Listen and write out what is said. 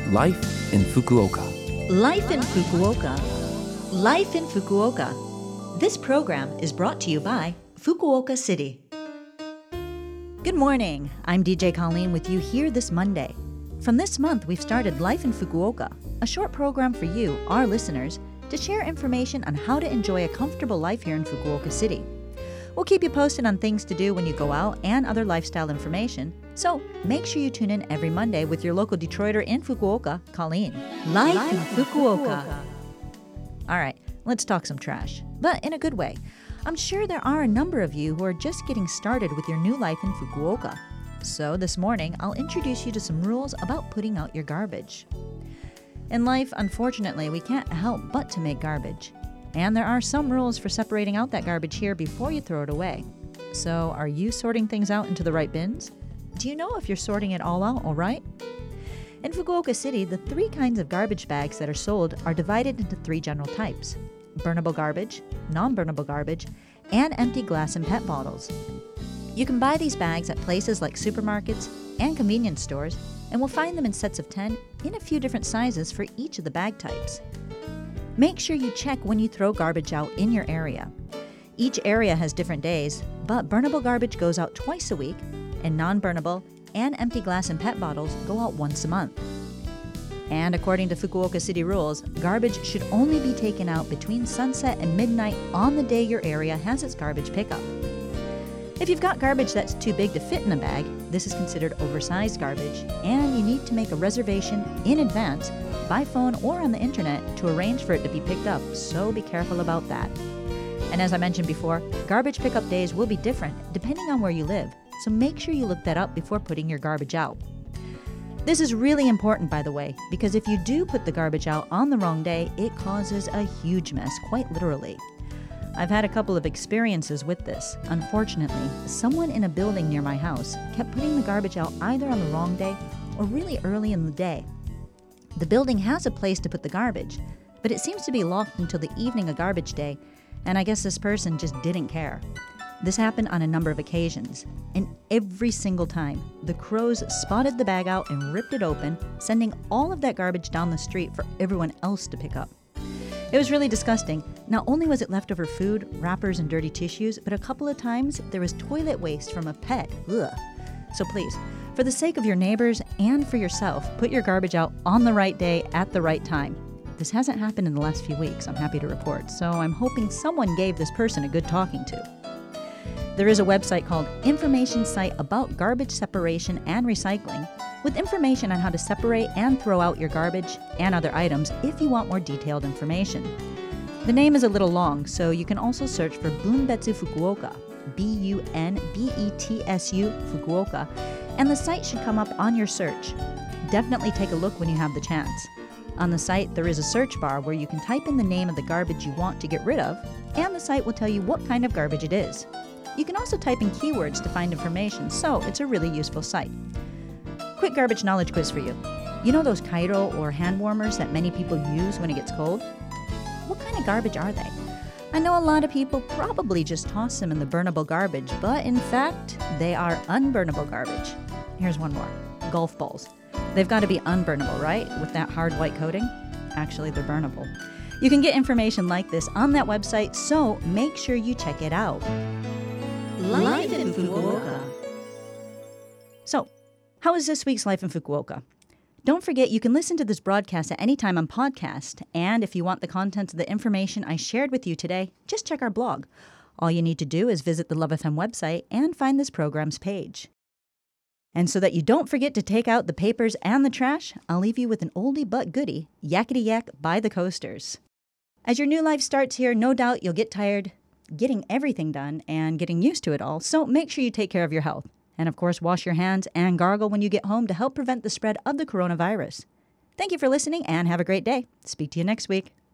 Life in Fukuoka. Life in Fukuoka. Life in Fukuoka. This program is brought to you by Fukuoka City. Good morning. I'm DJ Colleen with you here this Monday. From this month, we've started Life in Fukuoka, a short program for you, our listeners, to share information on how to enjoy a comfortable life here in Fukuoka City. We'll keep you posted on things to do when you go out and other lifestyle information, so make sure you tune in every Monday with your local Detroiter in Fukuoka, Colleen. Life in Fukuoka. All right, let's talk some trash, but in a good way. I'm sure there are a number of you who are just getting started with your new life in Fukuoka. So this morning, I'll introduce you to some rules about putting out your garbage. In life, unfortunately, we can't help but to make garbage. And there are some rules for separating out that garbage here before you throw it away. So, are you sorting things out into the right bins? Do you know if you're sorting it all out all right? In Fukuoka City, the 3 kinds of garbage bags that are sold are divided into 3 general types: burnable garbage, non-burnable garbage, and empty glass and PET bottles. You can buy these bags at places like supermarkets and convenience stores, and we'll find them in sets of 10 in a few different sizes for each of the bag types. Make sure you check when you throw garbage out in your area. Each area has different days, but burnable garbage goes out twice a week, and non-burnable and empty glass and PET bottles go out once a month. And according to Fukuoka City rules, garbage should only be taken out between sunset and midnight on the day your area has its garbage pickup. If you've got garbage that's too big to fit in a bag, this is considered oversized garbage, and you need to make a reservation in advance by phone or on the internet to arrange for it to be picked up, so be careful about that. And as I mentioned before, garbage pickup days will be different depending on where you live, so make sure you look that up before putting your garbage out. This is really important, by the way, because if you do put the garbage out on the wrong day, it causes a huge mess, quite literally. I've had a couple of experiences with this. Unfortunately, someone in a building near my house kept putting the garbage out either on the wrong day or really early in the day. The building has a place to put the garbage, but it seems to be locked until the evening of garbage day, and I guess this person just didn't care. This happened on a number of occasions, and every single time, the crows spotted the bag out and ripped it open, sending all of that garbage down the street for everyone else to pick up. It was really disgusting. Not only was it leftover food, wrappers, and dirty tissues, but a couple of times there was toilet waste from a pet. Ugh. So please, for the sake of your neighbors and for yourself, put your garbage out on the right day at the right time. This hasn't happened in the last few weeks, I'm happy to report, so I'm hoping someone gave this person a good talking to. There is a website called Information Site About Garbage Separation and Recycling, with information on how to separate and throw out your garbage and other items if you want more detailed information. The name is a little long, so you can also search for Bunbetsu Fukuoka, BUNBETSU Fukuoka, and the site should come up on your search. Definitely take a look when you have the chance. On the site, there is a search bar where you can type in the name of the garbage you want to get rid of, and the site will tell you what kind of garbage it is. You can also type in keywords to find information, so it's a really useful site. Quick garbage knowledge quiz for you. You know those Kairo or hand warmers that many people use when it gets cold? What kind of garbage are they? I know a lot of people probably just toss them in the burnable garbage, but in fact, they are unburnable garbage. Here's one more. Golf balls. They've got to be unburnable, right? With that hard white coating? Actually, they're burnable. You can get information like this on that website, so make sure you check it out. Life in Fukuoka. So, how is this week's Life in Fukuoka? Don't forget you can listen to this broadcast at any time on podcast, and if you want the contents of the information I shared with you today, just check our blog. All you need to do is visit the Love FM website and find this program's page. And so that you don't forget to take out the papers and the trash, I'll leave you with an oldie but goodie, Yakety Yak by the Coasters. As your new life starts here, no doubt you'll get tired getting everything done and getting used to it all, so make sure you take care of your health. And of course, wash your hands and gargle when you get home to help prevent the spread of the coronavirus. Thank you for listening and have a great day. Speak to you next week.